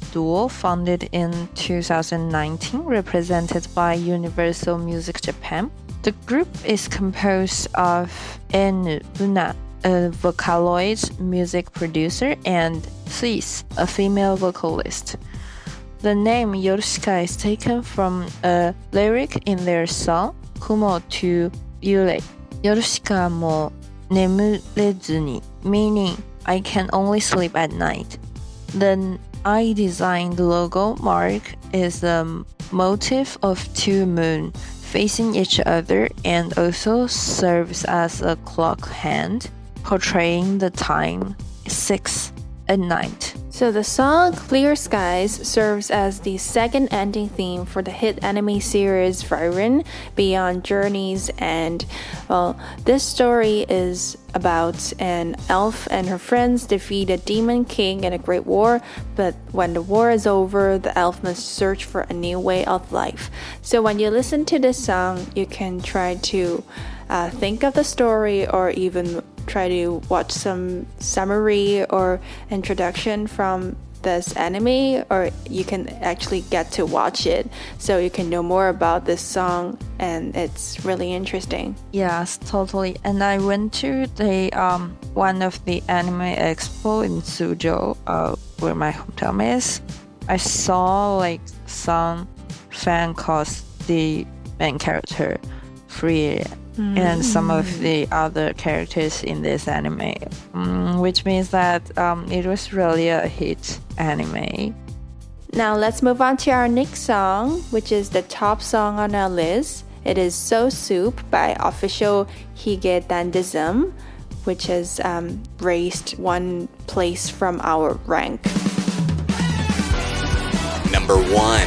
duo founded in 2019, represented by Universal Music Japan. The group is composed of Enu Una, a Vocaloid music producer, and Sis, a female vocalist. The name Yorushika is taken from a lyric in their song Kumo to Yurei. Yorushika mo nemurezuni, meaning I can only sleep at night. The I designed logo mark is a motif of two moons facing each other and also serves as a clock hand, portraying the time 6 at night. So the song Clear Skies serves as the second ending theme for the hit anime series Frieren Beyond Journeys, and well, this story is about an elf and her friends defeat a demon king in a great war, but when the war is over, the elf must search for a new way of life. So when you listen to this song, you can try to think of the story or even try to watch some summary or introduction from this anime, or you can actually get to watch it so you can know more about this song, and it's really interesting. Yes, totally. And I went to the one of the anime expo in Suzhou, where my hometown is. I saw like some fan cast the main character Frieren and some of the other characters in this anime, which means that it was really a hit anime. Now let's move on to our next song, which is the top song on our list. It is So Soup by Official Hige Dandism, which has raised one place from our rank. Number 1.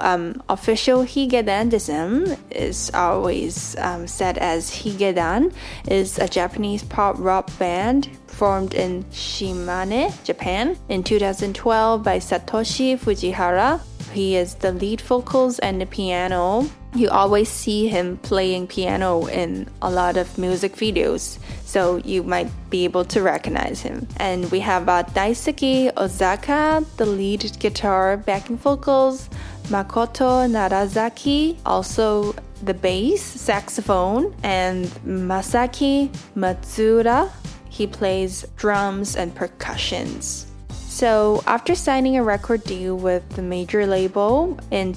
official Higedandism is always said as Higedan, is a Japanese pop rock band formed in Shimane, Japan in 2012 by Satoshi Fujihara. He is the lead vocals and the piano. You always see him playing piano in a lot of music videos, so you might be able to recognize him. And we have Daisuke Ozaka, the lead guitar, backing vocals, Makoto Narazaki, also the bass, saxophone, and Masaki Matsuura. He plays drums and percussions. So after signing a record deal with the major label in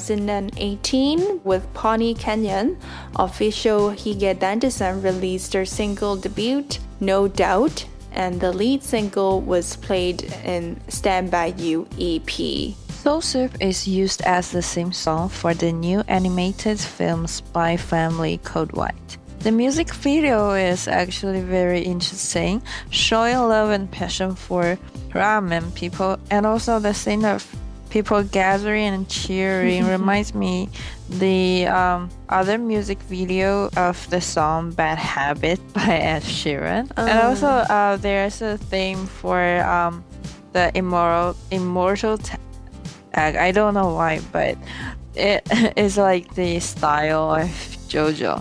2018 with Pawnee Canyon, official Higedandism released their single debut, No Doubt, and the lead single was played in Stand By You EP. Soul Soup is used as the theme song for the new animated film Spy Family Code White. The music video is actually very interesting, showing love and passion for ramen people, and also the scene of people gathering and cheering reminds me the other music video of the song Bad Habit by Ed Sheeran. And also there's a theme for the immortal tag. I don't know why, but it is like the style of JoJo.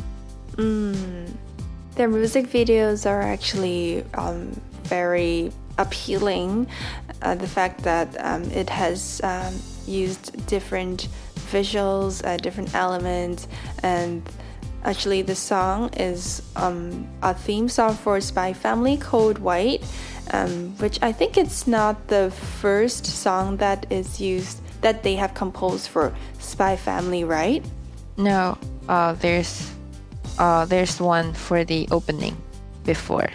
Their music videos are actually very appealing. The fact that it has used different visuals, different elements, and actually the song is a theme song for Spy Family Code White, which I think it's not the first song that is used that they have composed for Spy Family, right? No, there's one for the opening before.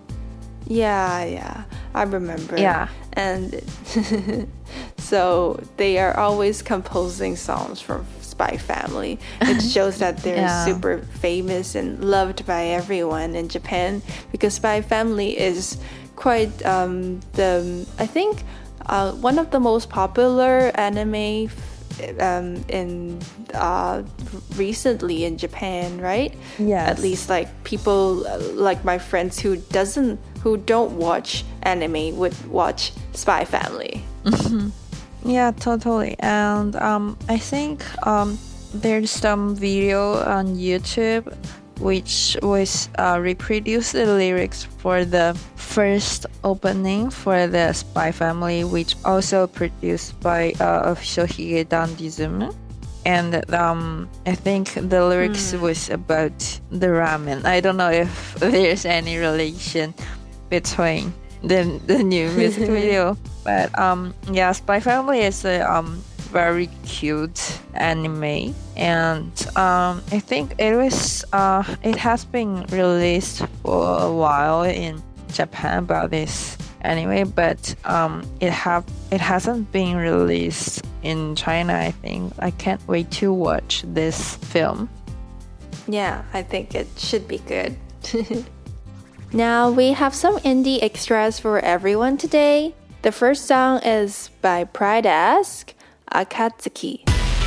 Yeah, I remember. Yeah. And so they are always composing songs for Spy Family. It shows that they're super famous and loved by everyone in Japan, because Spy Family is quite I think one of the most popular anime in recently in Japan, right? Yes. At least like people like my friends who don't watch anime would watch Spy Family. Yeah, totally. And I think there's some video on YouTube which was reproduced the lyrics for the first opening for the Spy Family, which also produced by official Higedandism. And I think the lyrics was about the ramen. I don't know if there's any relation between the new music video, but yeah, Spy Family is a very cute anime, and I think it has been released for a while in Japan about this anime, but it hasn't been released in China. I think I can't wait to watch this film. Yeah, I think it should be good. Now we have some indie extras for everyone today. The first song is by Pride Ask, Akatsuki.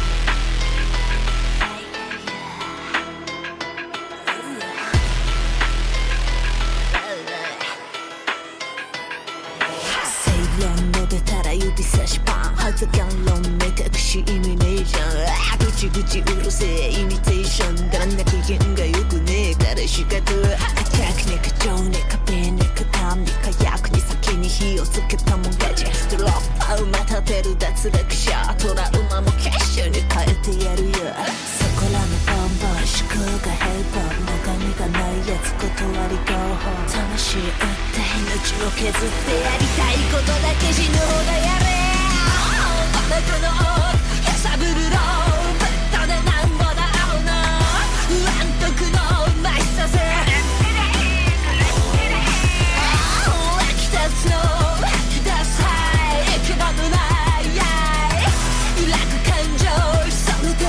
発言論目隠し意味ねえじゃんぐちぐちうるせえイミテーションだらな機嫌がよくねえから仕方はアタックね過剰ね壁ねかんに火薬に先に火をつけたもん勝ちドロップアウまたてる脱落者トラウマも結晶に変えてやるよそこらのボンボン思考がヘイボン中身がないやつ断り合法魂打って命を削ってやりたいことだけ死ぬほどやれこのやさぶるろうぶっとでなんぼだ青の安徳のうまいさせ湧き立つの吐き出すはい息のむない揺らぐ感情それで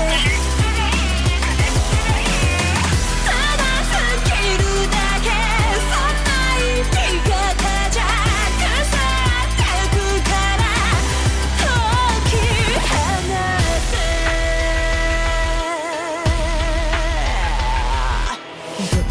ただ吹きるだけそんな生き方じゃ腐ってくから離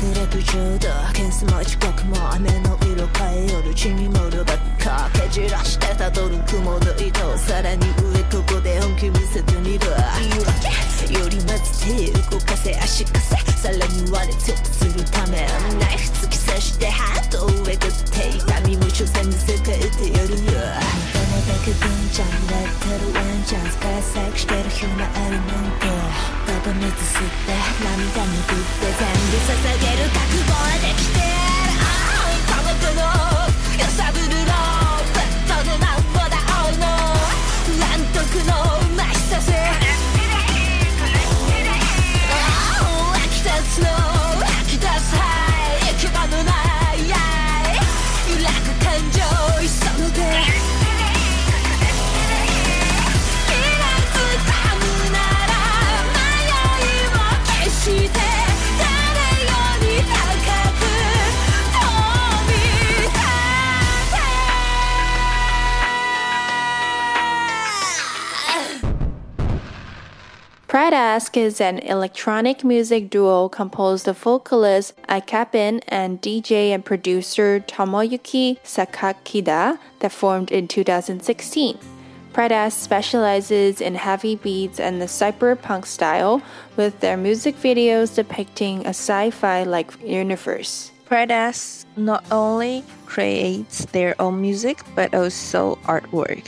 くれとちょうど件数も時刻も雨の色変えよる血に盛るばっかけじらしてたどる雲の糸さらに上ここで本気見せてみる言い訳よりまず手動かせ足かせさらに割れ強くするためナイフ突き刺してハートをえぐって痛みも所詮見せ替えてやるよただだけ文ちゃんレッテルワンチャンス解析してる暇あるなんてただ水吸って涙拭って全部捧げる覚悟はできてる孤独の揺さぶるのベッドでなんぼだ青いの乱徳のましさせ湧き出すの吐き出すはい行き場のない揺らぐ感情急ぐで Pride Ask is an electronic music duo composed of vocalist Aikapin and DJ and producer Tomoyuki Sakakida that formed in 2016. Pride Ask specializes in heavy beats and the cyberpunk style, with their music videos depicting a sci-fi-like universe. Pride Ask not only creates their own music but also artwork.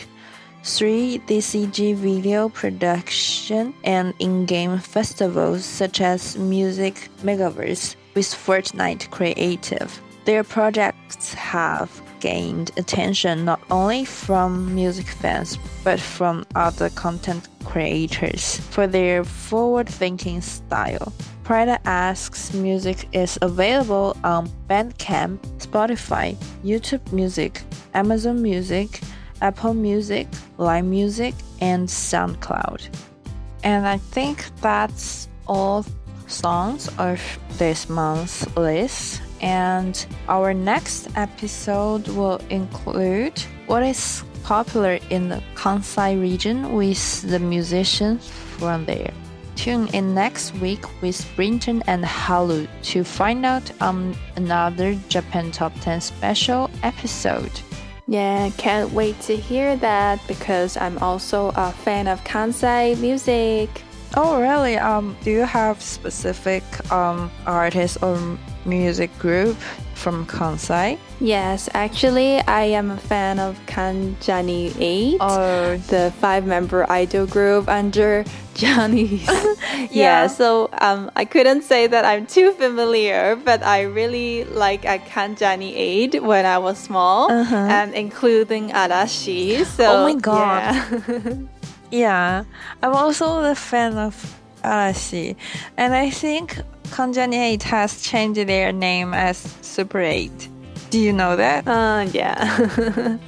3DCG video production and in-game festivals such as Music Megaverse with Fortnite Creative. Their projects have gained attention not only from music fans but from other content creators for their forward-thinking style. Pride Ask's music is available on Bandcamp, Spotify, YouTube Music, Amazon Music, Apple Music, Line Music, and SoundCloud. And I think that's all songs of this month's list. And our next episode will include what is popular in the Kansai region with the musicians from there. Tune in next week with Brinton and Halu to find out on another Japan Top 10 special episode. Yeah, can't wait to hear that because I'm also a fan of Kansai music. Oh, really? Do you have specific artist or music group from Kansai? Yes, actually, I am a fan of Kanjani 8, the 5-member idol group under Johnny's. Yeah, so I couldn't say that I'm too familiar, but I really like Kanjani 8 when I was small, and including Arashi. So, oh my god. Yeah, I'm also a fan of Arashi, and I think Kanjani 8 has changed their name as Super 8. Do you know that? Yeah.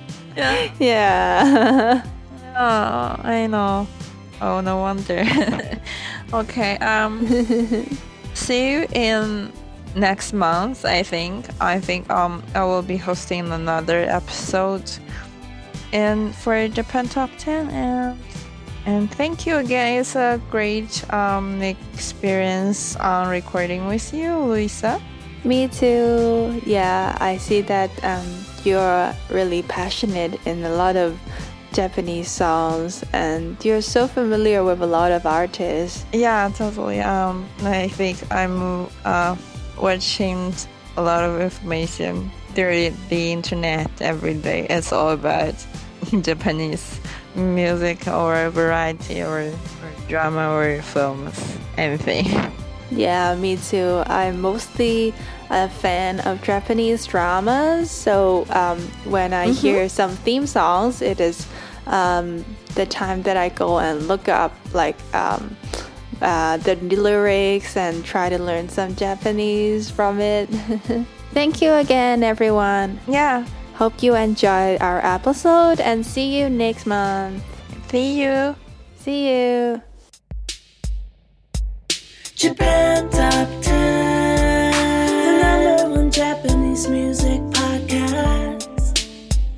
Yeah. Oh, I know. Oh, no wonder. Okay, see you in next month, I think. I will be hosting another episode for Japan Top 10 and thank you again. It's a great experience recording with you, Luisa. Me too. Yeah, I see that you're really passionate in a lot of Japanese songs and you're so familiar with a lot of artists. Yeah, totally. I think I'm watching a lot of information through the internet every day. It's all about Japanese music or variety or drama or films, anything. Yeah, me too. I'm mostly a fan of Japanese dramas, so when I hear some theme songs, it is the time that I go and look up like the lyrics and try to learn some Japanese from it. Thank you again, everyone. Yeah. Hope you enjoyed our episode and see you next month. See you. See you. Japan Top 10, the #1 Japanese music podcast.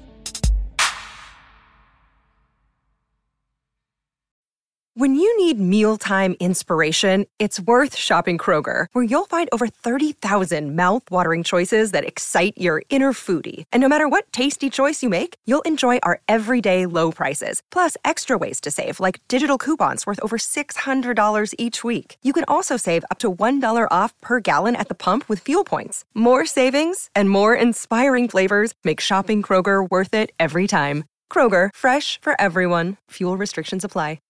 When you need music mealtime inspiration, it's worth shopping Kroger, where you'll find over 30,000 mouth-watering choices that excite your inner foodie. And no matter what tasty choice you make, you'll enjoy our everyday low prices, plus extra ways to save, like digital coupons worth over $600 each week. You can also save up to $1 off per gallon at the pump with fuel points. More savings and more inspiring flavors make shopping Kroger worth it every time. Kroger, fresh for everyone. Fuel restrictions apply.